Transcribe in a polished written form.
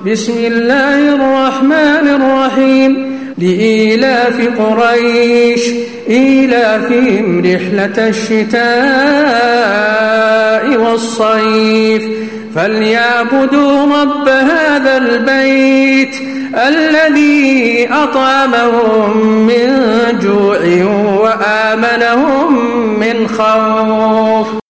بسم الله الرحمن الرحيم لإيلاف قريش إيلافهم رحلة الشتاء والصيف فليعبدوا رب هذا البيت الذي أطعمهم من جوع وآمنهم من خوف.